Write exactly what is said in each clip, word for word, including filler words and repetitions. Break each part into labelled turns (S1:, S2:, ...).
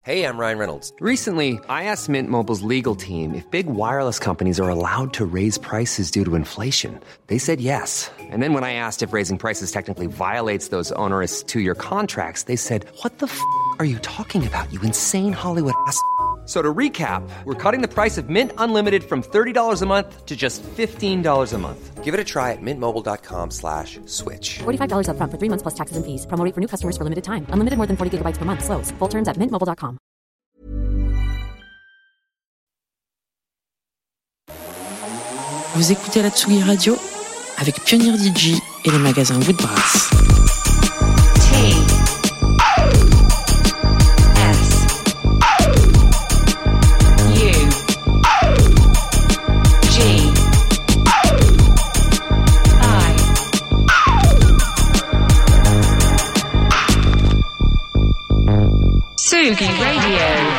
S1: Hey, I'm Ryan Reynolds.
S2: Recently, I asked Mint Mobile's legal team if big wireless companies are allowed to raise prices due to inflation. They said yes. And then when I asked if raising prices technically violates those onerous two-year contracts, they said, what the f*** are you talking about, you insane Hollywood ass f- So to recap, we're cutting the price of Mint Unlimited from thirty dollars a month to just fifteen dollars a month.
S1: Give it a try at mintmobile.com slash switch.
S3: forty-five dollars up front for three months plus taxes and fees. Promo rate for new customers for limited time. Unlimited more than forty gigabytes per month. Slows full terms at mint mobile dot com.
S4: Vous écoutez la Tsugi Radio avec Pionnier D J et les magasins Woodbrass.
S5: Tsugi Radio.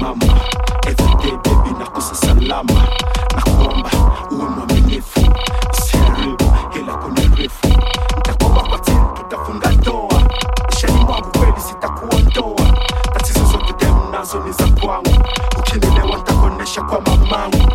S6: mama. Everyday baby nakosa salama. Nakuomba uwe mwaminifu, usiharibu hila kuniarifu. Nitakuwa kwa tini tutafunga ndoa. Ishani mwangu kweli sitakuondoa. Tatizo zote demu nazo ni za kwangu. Ukinielewa nitakuonesha kwa mamangu.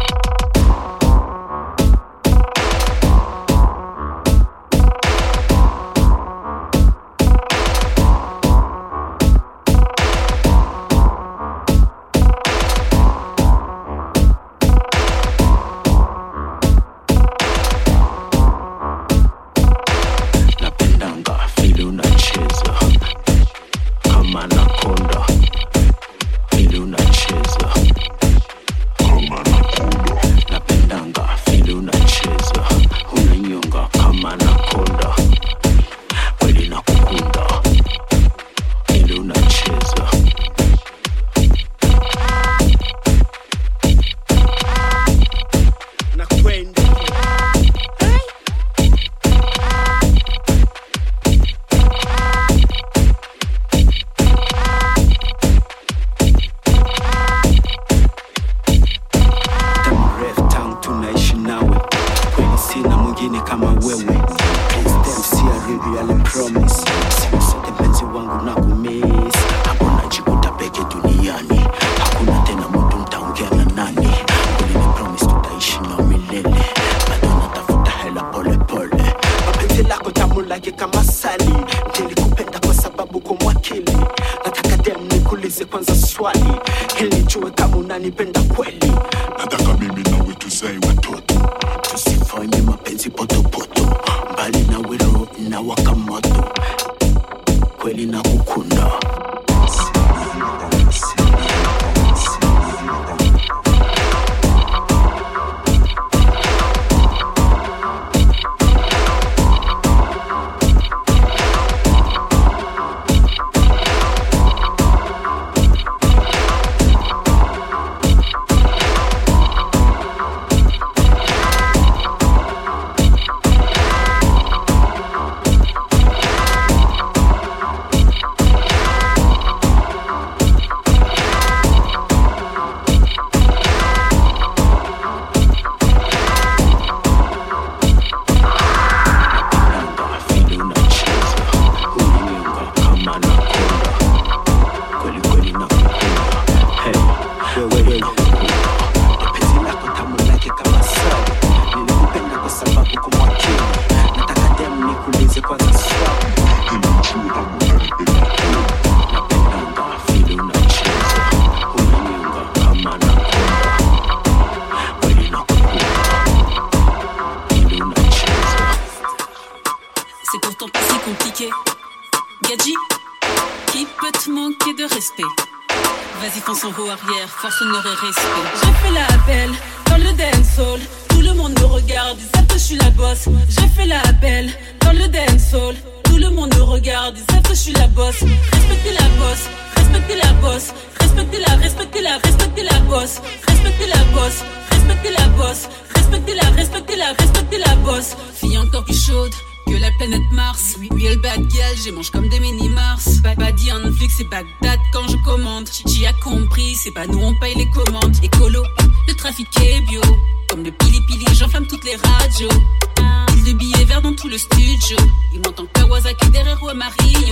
S7: Force n'aurait respect. J'ai fait la belle dans le dancehall. Tout le monde me regarde, ils savent que je suis la boss. J'ai fait la belle dans le dancehall. Tout le monde me regarde, ils savent que je suis la boss. Respectez la boss, respectez la boss. Respectez la, respectez la, respectez la boss. Respectez la boss, respectez la boss. Respectez la, respectez la, respectez la boss. Fille encore plus chaude que la planète Mars. Real bad girl, j'ai mange comme des mini-Mars. Badi en flic, c'est Bagdad quand je commande. Chi a compris, c'est pas nous on paye les commandes. Écolo, le trafic est bio. Comme le pili-pili, j'enflamme toutes les radios. Il de billets verts dans tout le studio. Il m'entend Kawasaki derrière ou Mario.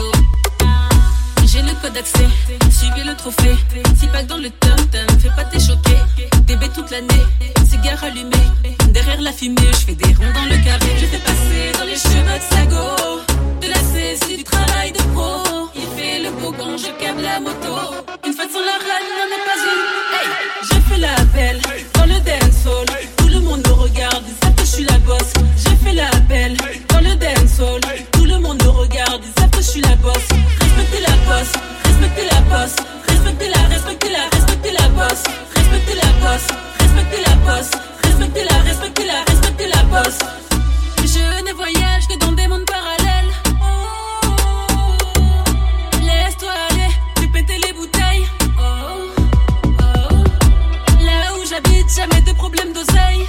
S7: J'ai le code d'accès, suivez le trophée. Six packs dans le tom-tom, fais pas t'es choqué. D B toute l'année, cigare allumé. Derrière la fumée, je fais des ronds dans le carré. Je fais passer dans les cheveux de Sago. De la C, c'est du travail de pro. Il fait le beau quand je câble la moto. Une fête sans la râle n'en est pas une. Hey, j'ai fait la belle dans le dancehall. Tout le monde me regarde, ils savent que je suis la boss. J'ai fait la belle dans le dancehall. Tout le monde me regarde, ils savent que je suis la boss. Respectez la boss, respectez la boss. Respectez la, respectez la, respectez la boss. Respectez la boss, respectez la boss. Respectez la, respectez la, respectez la boss. Je ne voyage que dans des mondes parallèles. Oh, laisse-toi aller, fais péter les bouteilles. Oh, oh, là où j'habite, jamais de problème d'oseille.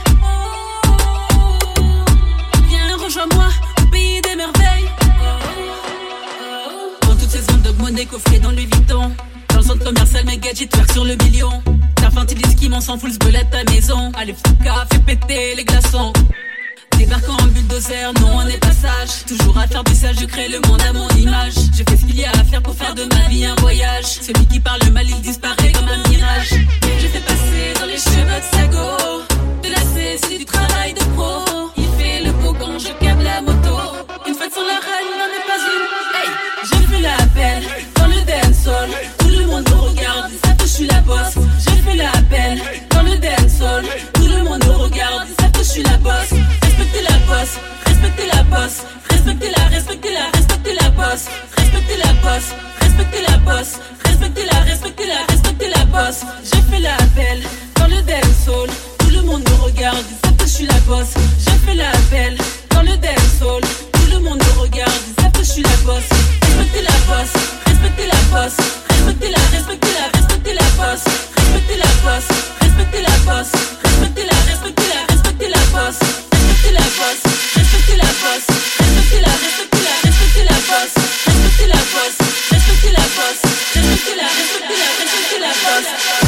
S7: Oh, viens, rejoins-moi au pays des merveilles. Oh, oh, dans toutes ces zones de monnaie coffrées dans Louis Vuitton. Dans le centre commercial, mes gadgets twerk sur le million. T'infantilise qui m'en s'en fout, le belette à ta maison. Allez, fouca, fais péter les glaçons. Débarquant en bulldozer, non on est pas sage. Toujours à faire du sale, je crée le monde à mon image. Je fais ce qu'il y a à faire pour faire de ma vie un voyage. Celui qui parle mal, il disparaît comme un mirage. Je fais passer dans les cheveux de Sago. De la C, c'est du travail de pro. Il fait le beau quand je câble la moto. Une fête sur la reine, n'en est pas une. Hey, je fais la belle dans le dancehall. Tout le monde me regarde, ils savent que je suis la boss. Je fais la belle dans le dancehall. Tout le monde me regarde, ils savent que je suis la boss. Respectez la boss, respectez la boss, respectez la, respectez la, respectez la boss, respectez la boss, respectez la boss, respectez la, respectez la, respectez la boss. Je fais la belle dans le dancehall, tout le monde me regarde, ils savent que je suis la boss. Je fais la belle dans le dancehall, tout le monde me regarde, ils savent que je suis la boss. Respectez la boss, respectez la boss, respectez la, respectez la, respectez la boss, respectez la boss, respectez la boss, respectez la, respectez la, respectez la boss. Respectez la boss, respectez la boss, respectez la, respectez la, respectez la boss, respectez la boss, respectez la boss, respectez la, respectez la, respectez la boss.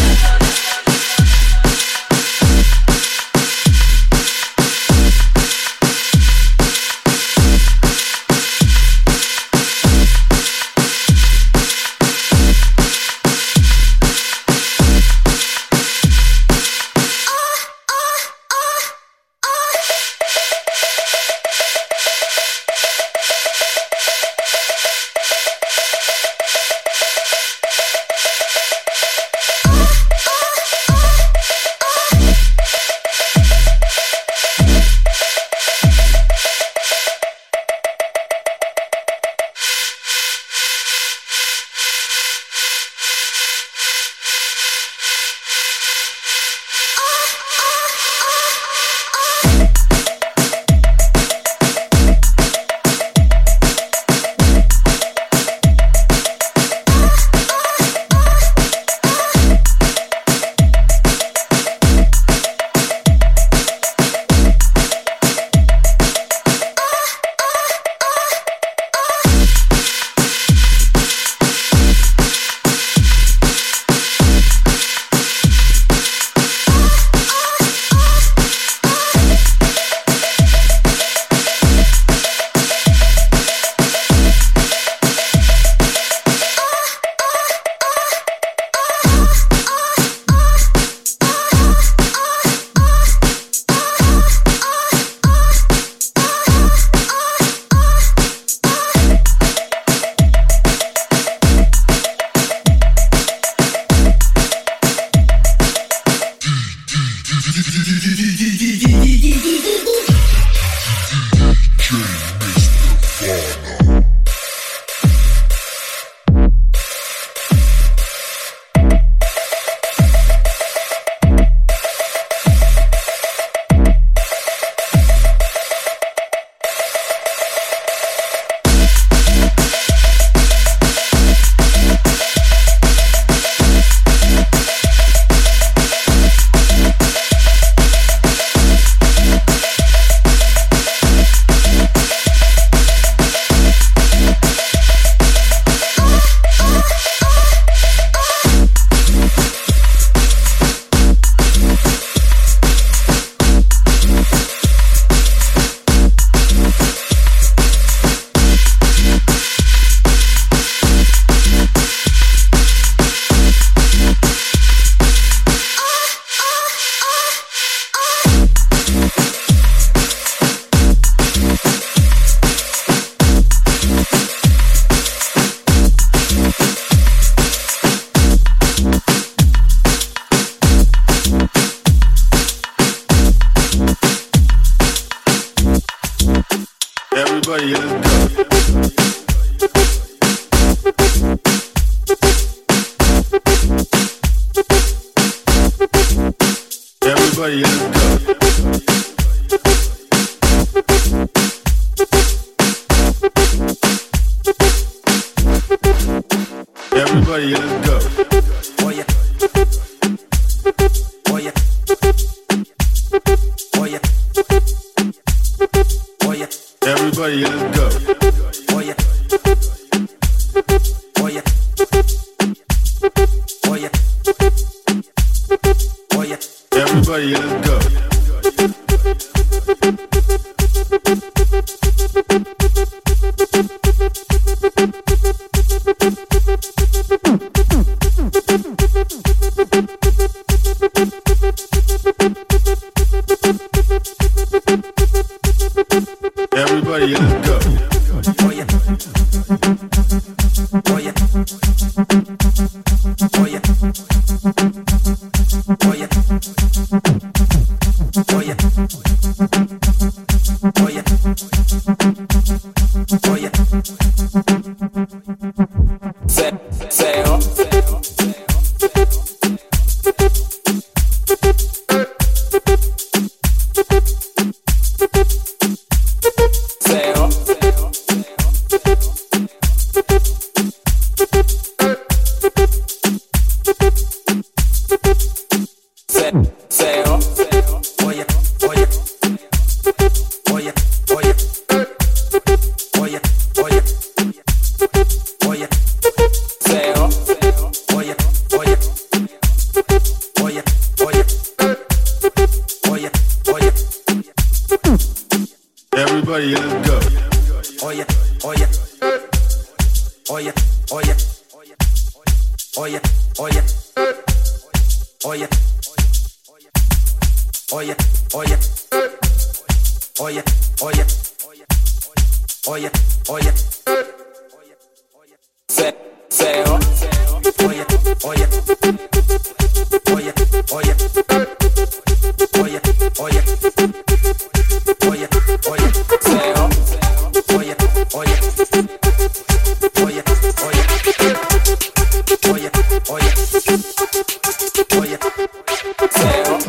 S6: Everybody, let's go. Everybody, let's go. Everybody, let's go. Oh yeah. Oh yeah. Oh yeah. Oh yeah. Everybody, let's go. Oh yeah. Oh yeah. Everybody, let's go. Everybody, let's go. Oh yeah. Oh yeah. Oh yeah. Oh yeah. Oh yeah. Oh yeah. Oh yeah. Say, say, oh. Everybody, let's go. Oh yeah, oh yeah. Oh yeah, oh yeah. Oh yeah, oh yeah. Oh yeah. Oh yeah, oh yeah. Oh yeah, oh yeah. Oh yeah, oh yeah. Say, say, oh. Oh yeah, oh yeah. Oh yeah, oh yeah. Oh yeah, oh yeah. Oh yeah, oh yeah. Say, oh. Oh yeah, oh yeah. Oh yeah, oh yeah. Oh yeah, oh yeah. Oh yeah. Say, oh.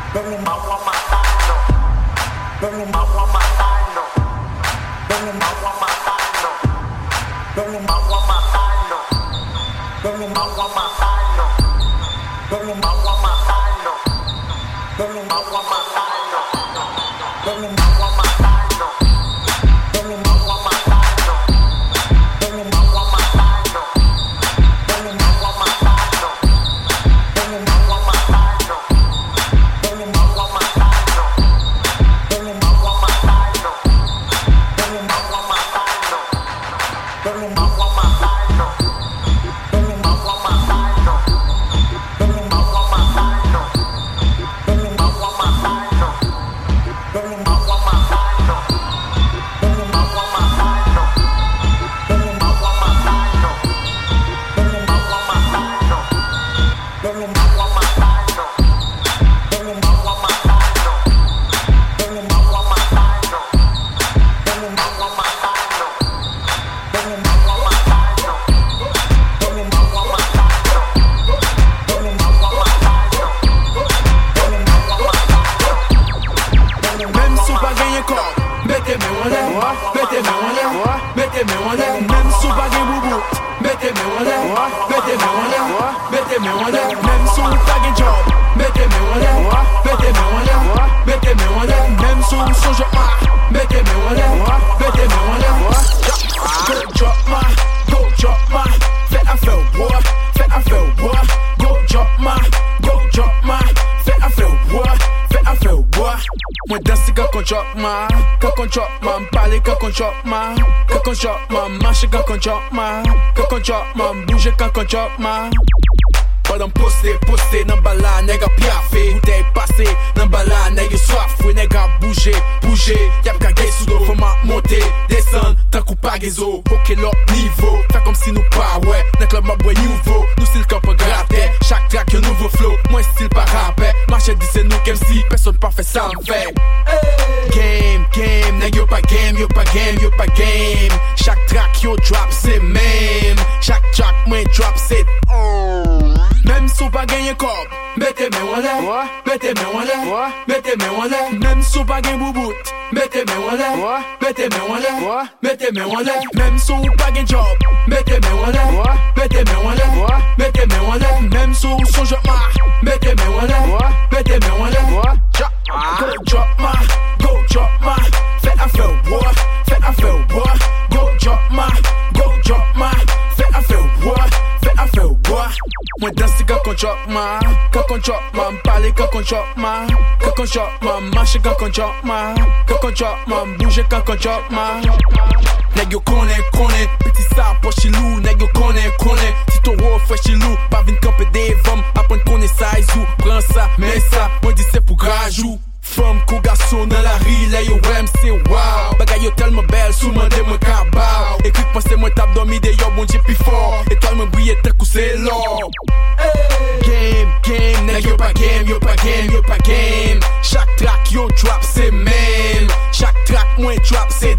S8: Padam poste, poste, nan bala, nega piafe Bouteille passe, nan bala, nega soif Oui, nega bouge, bouge Yap kage sou do, foma monte, descend Tan kou pa gezo, poke l'autre niveau Fa comme si nou pa, ouais, nan club ma boy nouveau Nou style kamp gratte, chaque track yon nouveau flow Moi style pa rapè, marche di se nou kem si Personne pa fè sa m'fè Game, game, nega yo pa game, yo pa game, yo pa game Chaque track yo drop, c'est même Chaque track mwen drop, c'est Même sou pa genye kob, mette men wale Mette men wale, mette men wale Même sou pa genye boubout, mette men wale Mette men wale, mette men wale Même sou pa genye job, mette men wale Mette men wale, mette men wale Même sou son job ma, mette men wale Mette men wale, go drop ma, go drop ma Fais affaire boy, fais affaire boy Go drop ma, go drop ma Fais affaire boy, fais affaire boy Mwen danse quand on drop ma, quand on drop ma M'parle quand on drop ma, quand on drop ma Marche quand on drop ma, quand on drop ma Bouge quand on drop ma Nèg yo konnen, konnen, petit sa poche lou Nèg yo konnen, konnen, si ton roi fresh lou Pas vin camper des vom, apprendre konnen size ou Prends ça, mets ça, moi dis c'est pour grajou Femme kou garçon dans la rue, là yo wèm c'est wow Bagay yo tellement belle, sou mande mwen kabao Ekrik pense mwen tap dormi de yo bon Dieu pi fort Étoile mwen brille tant kou c'est l'or Game, game, nèg yo pa game, yo pa game, yo pa game Chaque track yo drop c'est même Chaque track mwen drop c'est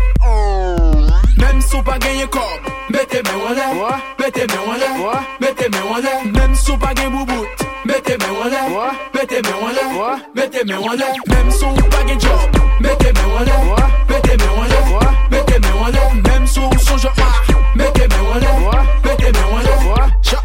S8: Même sou pa genye kob, mette men wale Mette men wale, mette men wale Même sou pa genye boubout, mette men wale Mette men wale, mette men wale Même sou pa genye job, mette men wale Mette men wale, mette men wale Même sou son job ma, mette men wale Mette men wale, ja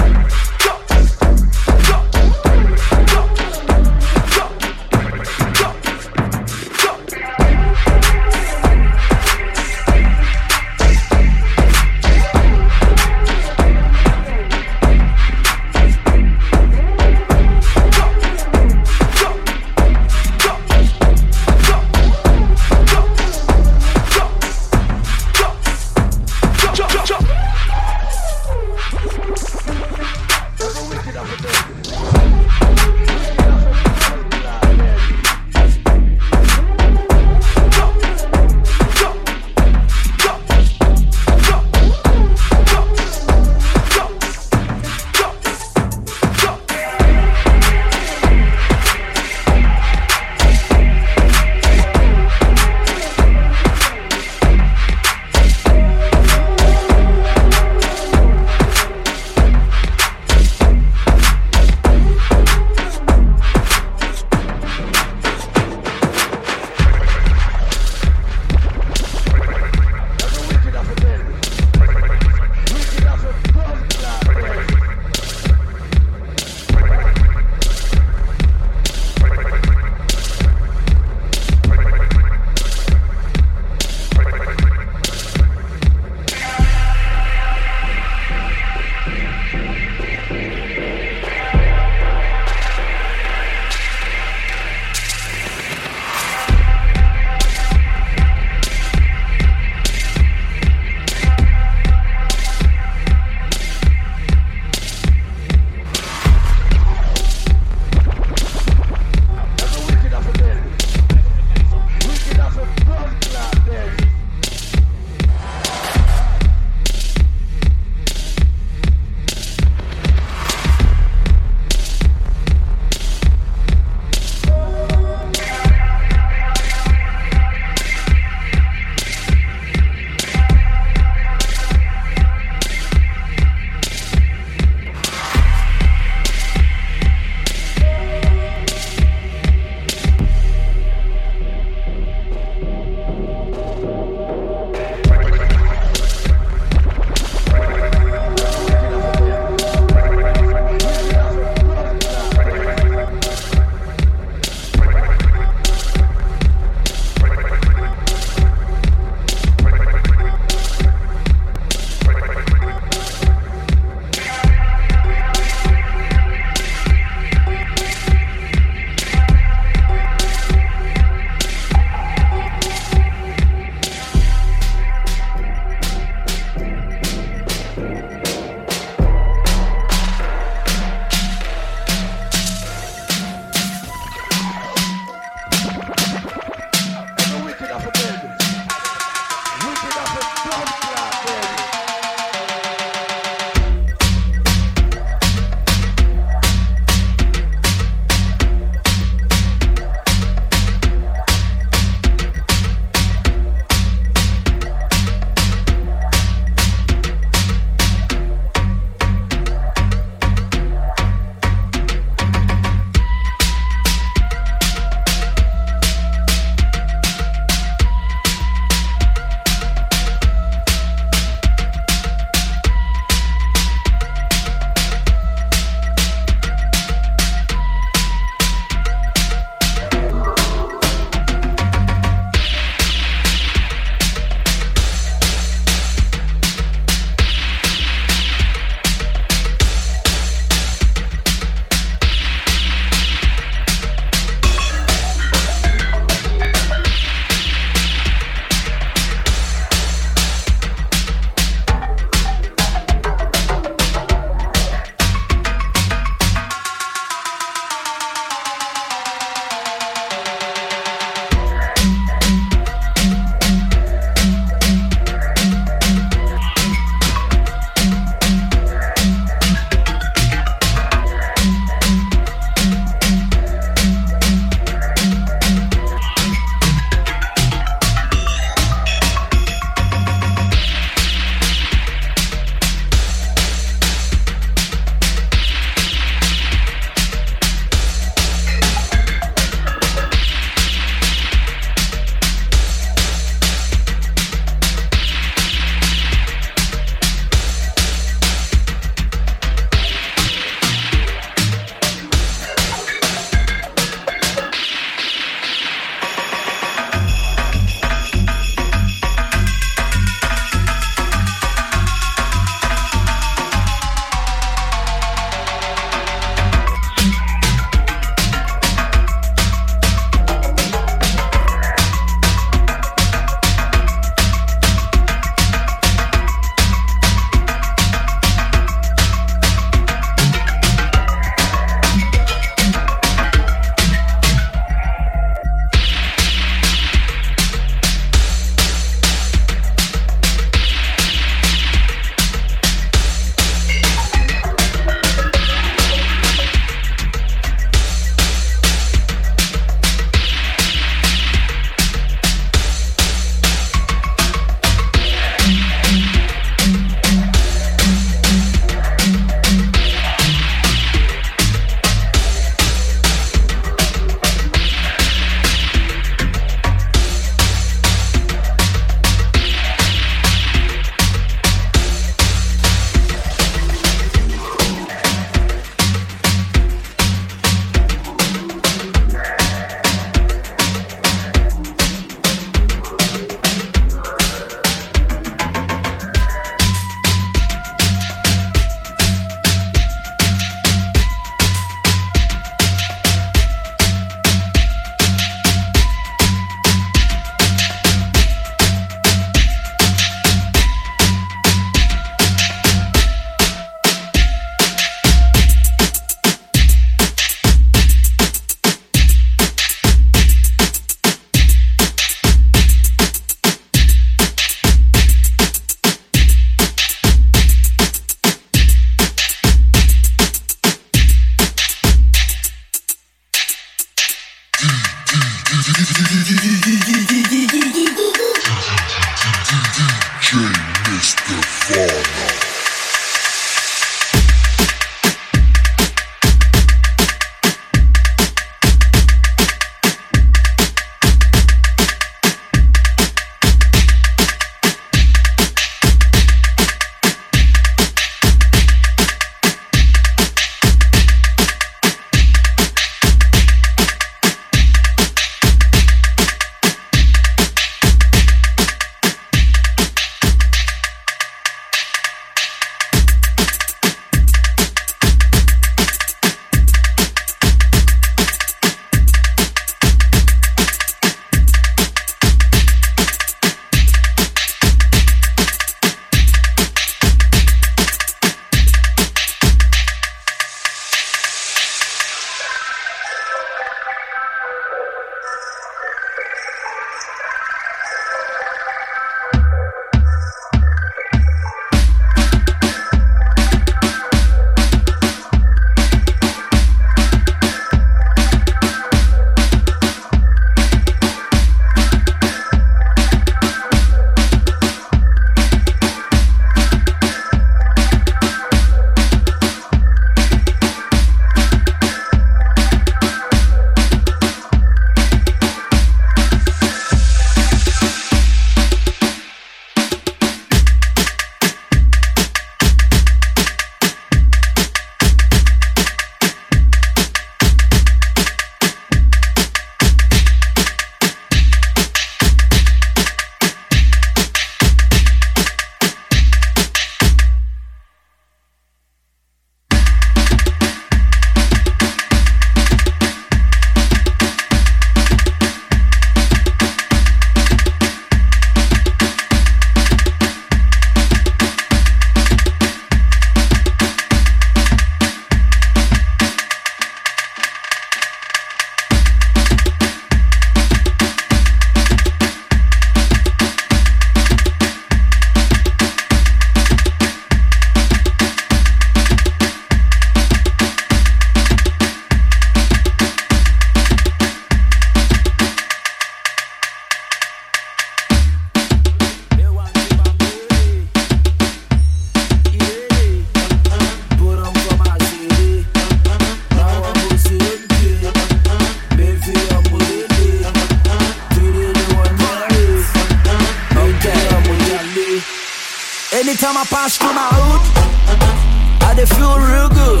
S9: pass through my hood, I dey feel real good.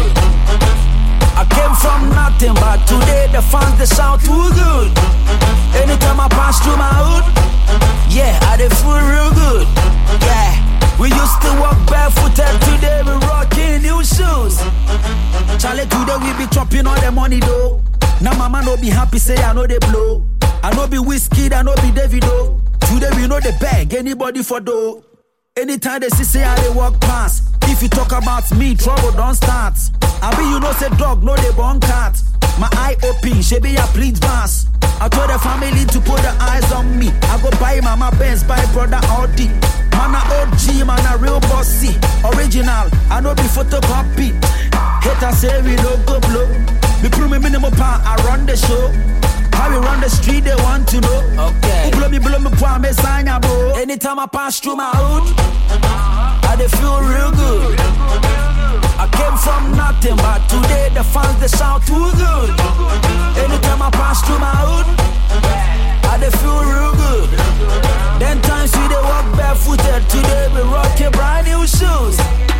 S9: I came from nothing, but today the fans they sound too good. Anytime I pass through my hood, yeah, I dey feel real good. Yeah, we used to walk barefooted, today we rocking new shoes. Charlie, today we be chopping all the money though. Now mama no be happy, say I know they blow. I know be Whiskey, I know be Davido. Today we know they beg anybody for dough. Anytime they see say I they walk past, if you talk about me, trouble don't start. I be you know say dog, no they born cat. My eye open, she be a please pass. I told the family to put the eyes on me. I go buy mama Benz, buy brother Audi. Man a O G, man a real bossy. Original, I know be photocopy. Hater say we no go blow. Me prove me minimum pound, I run the show. How we run the street, they want to know. Okay. Who blow me, blow me, pound, me sign ya, bro. Anytime I pass through my hood, I dey feel real good. I came from nothing, but today the fans, they sound too good. Anytime I pass through my hood, I dey feel real good. Then times we dey walk barefooted, today we rockin' brand new shoes.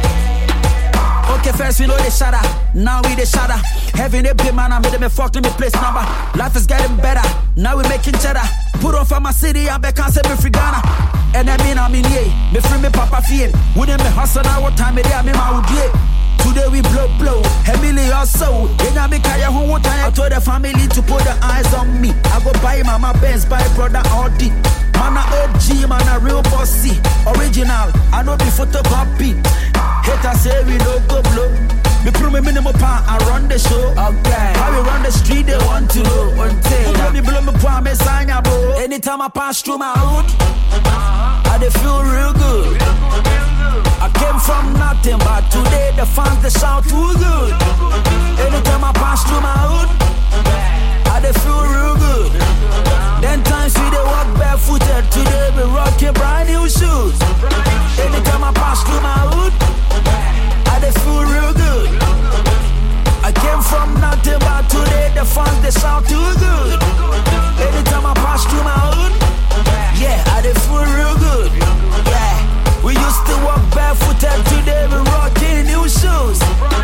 S9: Okay, first we know they shatter, now we they shatter. Having a big man, I made them a fuck to me place number. Life is getting better, now we making cheddar. Put on for my city, I'm back, I say me free Ghana. And I mean, I'm in here, me free me papa feel. Wouldn't me hustle now, what time it is, I mean, I would yeah. Today we blow, blow, a million or so. Then I make a whole time. I told the family to put the eyes on me. I go buy mama Benz, buy brother Audi. Man a O G, man a real bossy. Original, I know be photocopy. Hater say we no go blow. Me prove me minimum pound, I run the show. Okay. How we run the street, they want to know. Who blow me blow me pound, me sign ya, bro. Anytime I pass through my hood, I dey feel real good. I came from nothing, but today the fans they sound too good. Anytime I pass through my hood, I dey feel real good. Then times we dey walk barefooted, today we rockin' brand new shoes. Anytime I pass through my hood, I dey feel real good. I came from nothing, but today the fans they sound too good. Anytime I pass through my hood, yeah, I dey feel real good. Yeah. We used to walk barefooted, today we rockin' new shoes.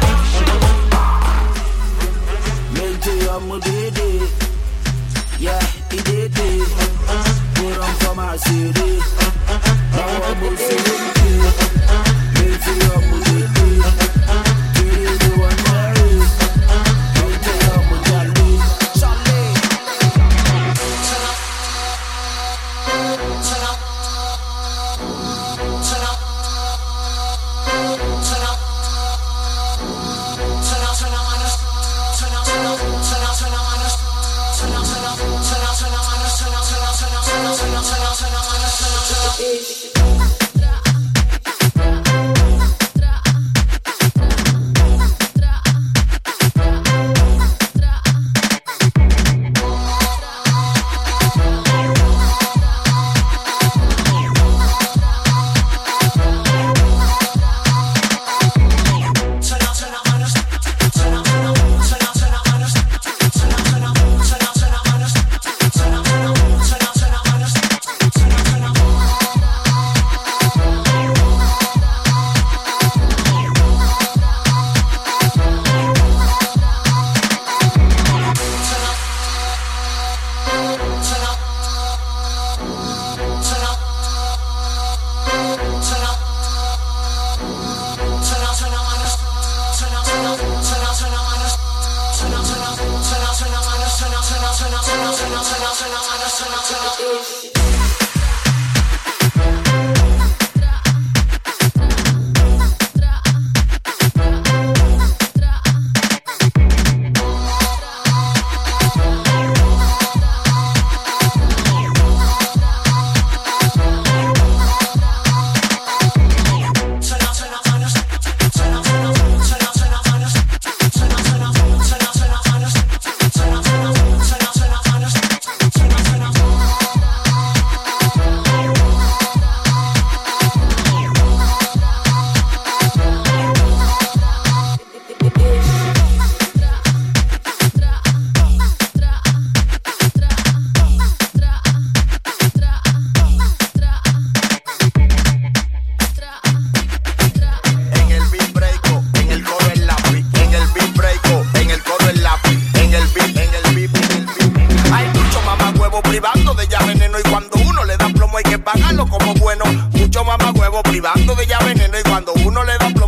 S9: Mente amo dede, yeah, he did it. Put on for my city, now I'm on city. Mente amo dede, dede the one marry. Mente amo jolly, jolly. Turn up, turn up.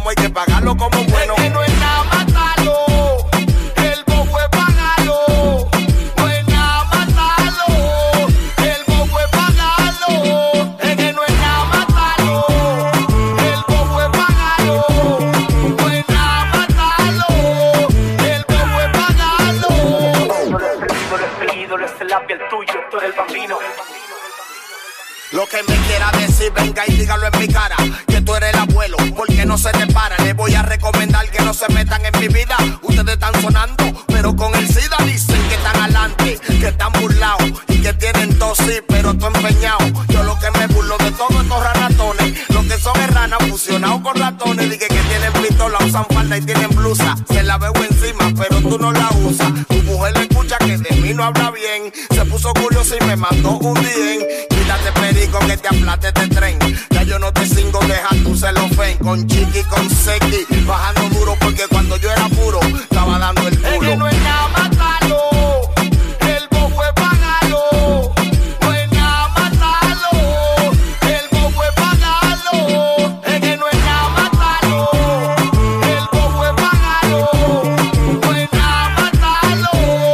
S10: plomo hay que pagarlo como bueno. Es que no es nada matarlo, el bobo es pagarlo. No es nada matarlo, el bobo es pagarlo. Es que no es nada matarlo, el bobo es pagarlo. No es nada matarlo, el bobo es pagarlo.
S11: No le sé la piel tuyo, tú eres el bambino.
S10: Lo que me quiera decir, venga y dígalo en mi cara, que tú eres el abuelo, porque no se te para. Le voy a recomendar que no se metan en mi vida. Ustedes están sonando, pero con el SIDA dicen que están adelante, que están burlados y que tienen tos, sí, pero tú empeñado. Yo lo que me burlo de todos estos ratones, lo que son es ranas fusionados con ratones. Dije que tienen pistola, usan falda y tienen blusa. Se la veo encima, pero tú no la usas. Tu mujer le escucha que de mí no habla bien. Se puso curioso y me mandó un bien. Quítate perico que te aplate este tren. Ya yo no te cingo, deja tu celofén. Con chiqui, con sequi, bajando duro porque cuando yo era puro estaba dando el culo. Es que no es nada matarlo, el bobo es pagarlo. No es nada matarlo, el bobo es pagarlo. Es que no es nada matarlo, el bobo es pagarlo. No es nada matarlo,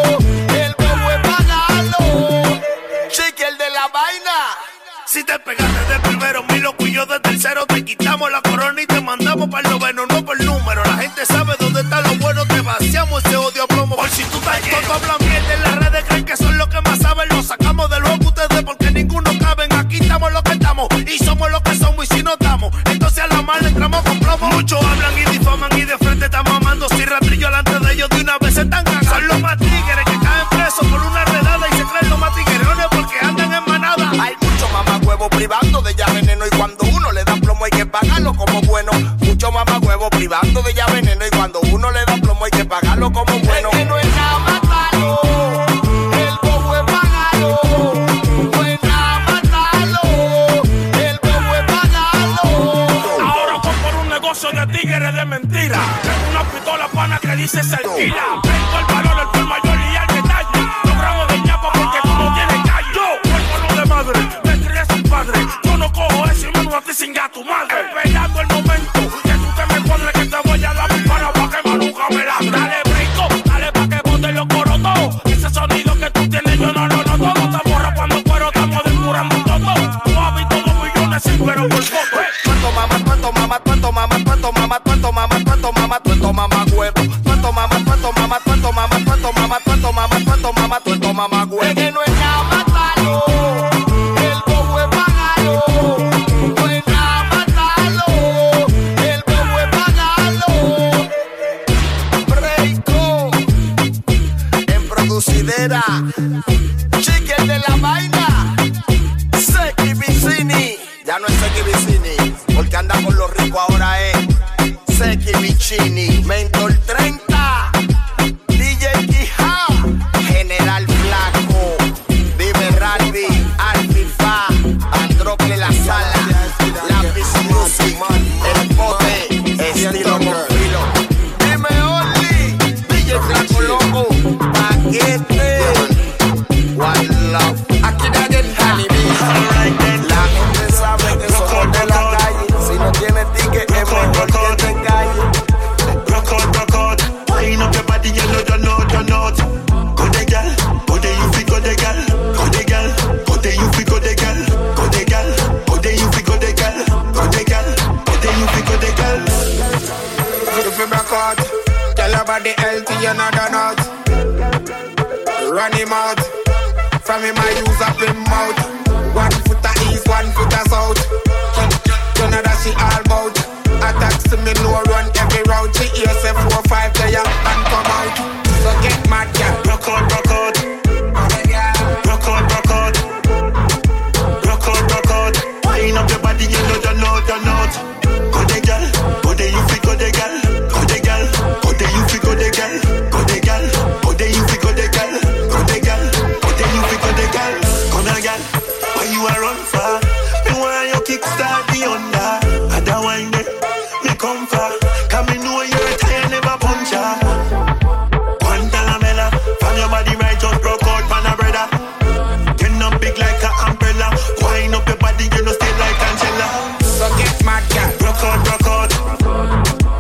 S10: el bobo es pagarlo. Chiqui, el de la vaina.
S12: Si te pegaste de primero, mi loco y yo de tercero, te quitamos la corona y te mandamos para el noveno, no por número. La gente sabe dónde está lo bueno, te vaciamos ese odio a plomo. Por si tú estás lleno, todos hablan mierda en las redes, creen que son los que más saben. Lo sacamos de luego ustedes porque ninguno caben. Aquí estamos los que estamos y somos los que somos. Y si no estamos, entonces a la mala entramos con plomo. Muchos hablan y difaman y de frente están mamando. Si rastrillo delante de ellos de una vez se están cagando. Son los más tigres que caen presos por una redada y se creen los más tiguerones porque andan en manada.
S10: Hay mucho mamahuevo privando de ya veneno, y cuando uno le da plomo hay que pagarlo como bueno. Mucho mamahuevo privando de ya veneno, y cuando uno le da plomo hay que pagarlo como bueno. Es que no es nada matarlo, el bobo es pagarlo. No es nada matarlo, el bobo es pagarlo.
S12: Ahora voy por un negocio de tigres de mentira. Tengo una pistola pana que dice se alquila. Tengo el valor, el por mayor y el detalle. Logramos de ñapa porque tú no tienes calle. Yo, huérfano de madre, me crié sin padre. Yo no cojo eso y menos a ti sin gato madre. Esperando el momento que tú te me cuadres, que te voy a dar mi para pa' que maluca me la. Dale brinco, dale pa' que bote los corotos. Ese sonido que tú tienes yo no lo noto. No estamos rapando cuero, estamos descurando todo. No ha visto dos millones sin pero por poco.
S10: Cuánto mamá, cuánto mamá, cuánto mamá, cuánto mamá, cuánto mamá, cuánto mamá, cuánto mamá huevo. Cuánto mamá, cuánto mamá, cuánto mamá, cuánto mamá, cuánto mamá, cuánto mamá, cuánto mamá huevo. Es que no es nada matarlo, el bobo es pagarlo. No es nada matarlo, el bobo es pagarlo. Breako en producidera, Chiqui el de la vaina, Seki Vicini. Ya no es Seki Vicini, porque anda con los ricos, ahora es Seki Vicini. Mentor treinta, D J Quija, General Flaco, Vive Ralby, Alfifa, Androcle La Sala, Lápiz Music, El Pote, Estilo con Filo. Dime Only, D J Flaco Loco, Paquete, One Love. Aquí nadie es la gente sabe que somos de la calle. Si no tienes ticket es mejor que te calles.
S13: Rock out, rock out. Wind up your body, you know, you know, you know. Go the gal, go the you fi go the gal, go the gal, go the you fi go the gal, go the gal, go the you fi go the gal, go the gal, go the you fi go the gal.
S6: You fi rock out, tell your body healthy, you know the nut. Run him out, from him I use up him mouth. One foot a east, one foot a south. You know that she all bout. Attacks to me, no run every route. She hears say four, five, there and come out. So get mad, yeah.
S13: Rock out, rock out. Rock out, rock out. Rock out, rock out. Wind up your body, you know, you know, you know. Go the gal, go the you fi go the gal, go the gal, go the you fi go the gal, go the gal, go the you fi go the gal, go the gal, go the you fi go the gal. Come on, gal, why you a run far? Me want you kickstart the under. Other wine there, me come far. 'Cause me know you're a tired, never punch her. One talamela, from your body right, just broke out, man a brother. Turn up big like an umbrella. Wind up your body, you know stay like Angela.
S6: So get mad, gal.
S13: Rock out, rock out.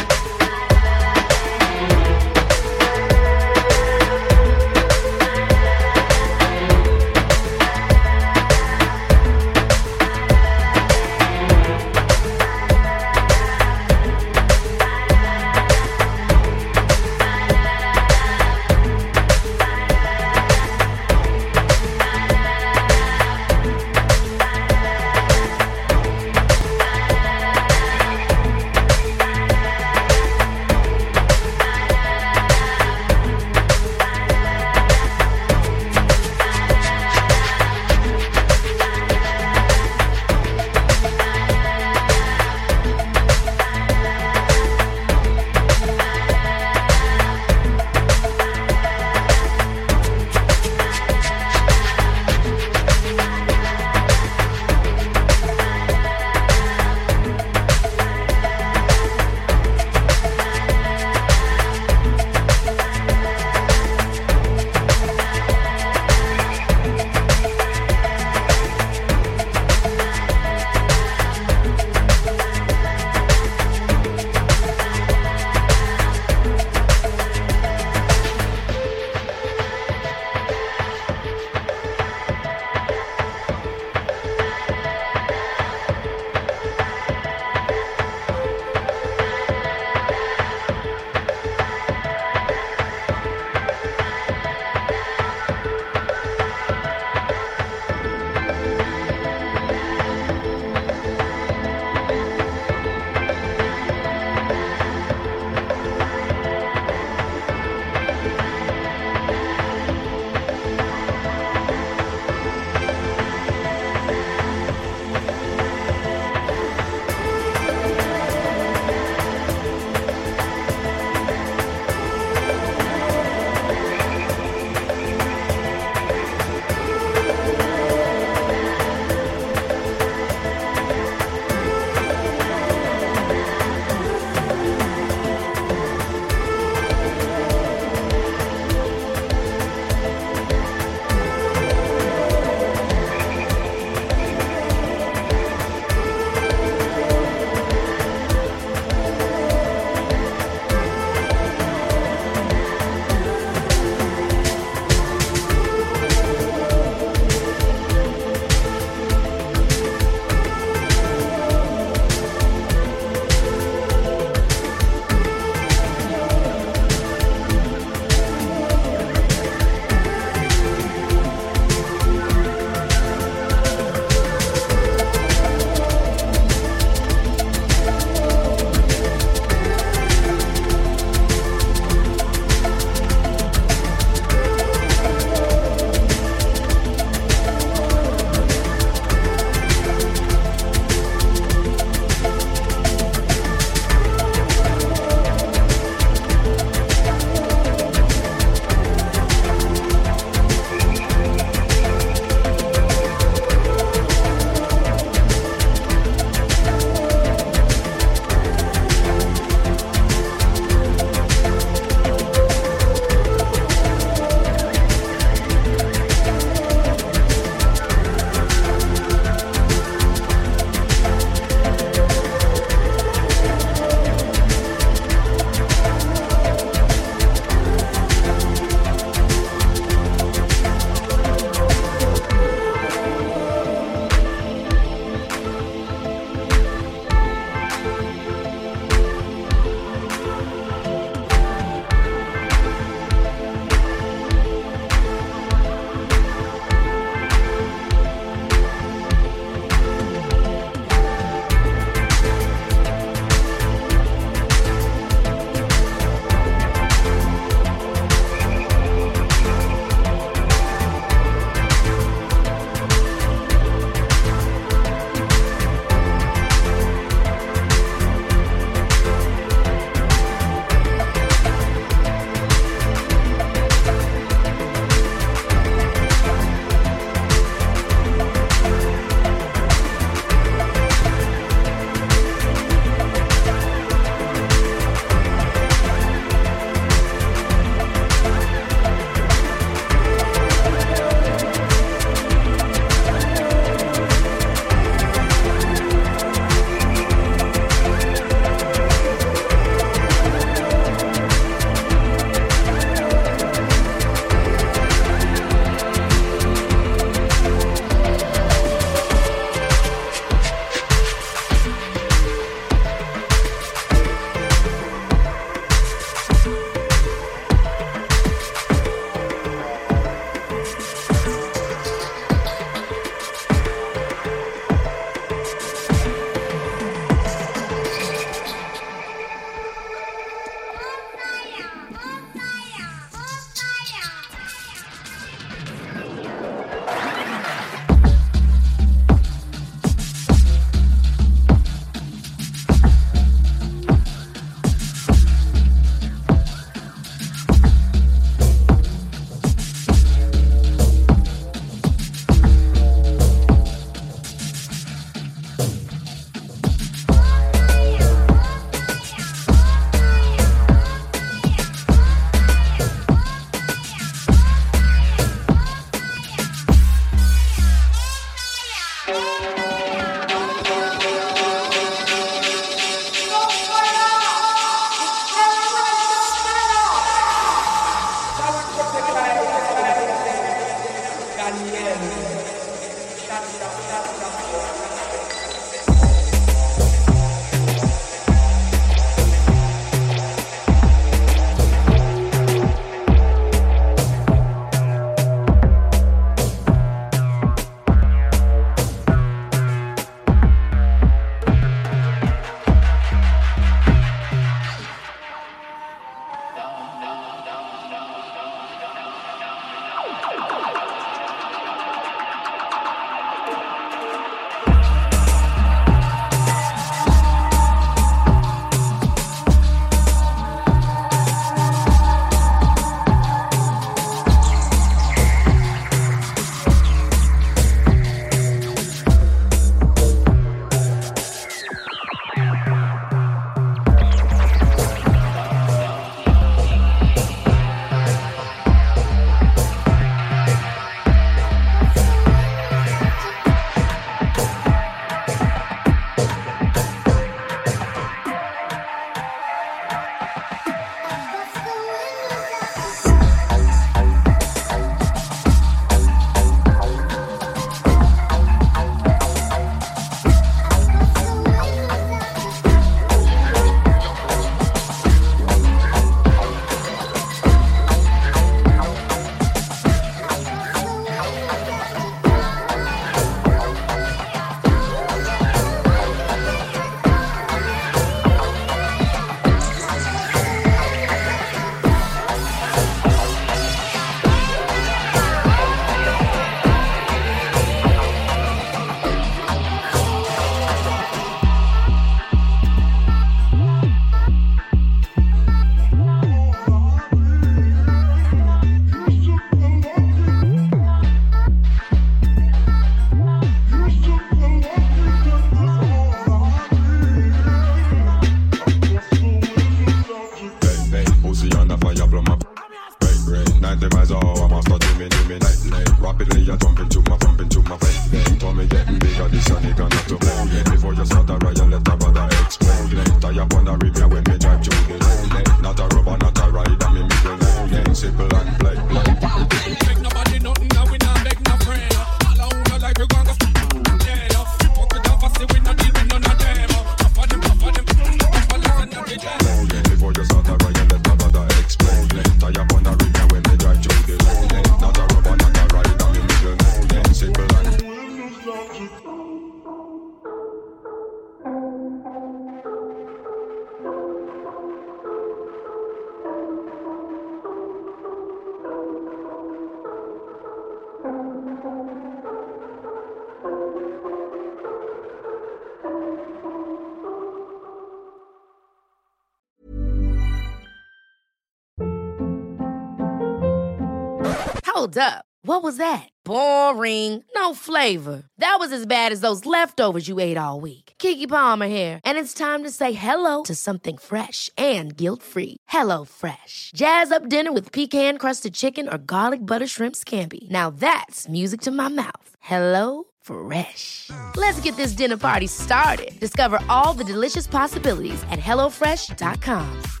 S14: Hold up. What was that? Boring. No flavor. That was as bad as those leftovers you ate all week. Keke Palmer here, and it's time to say hello to something fresh and guilt-free. Hello Fresh. Jazz up dinner with pecan-crusted chicken or garlic butter shrimp scampi. Now that's music to my mouth. Hello Fresh. Let's get this dinner party started. Discover all the delicious possibilities at hello fresh dot com.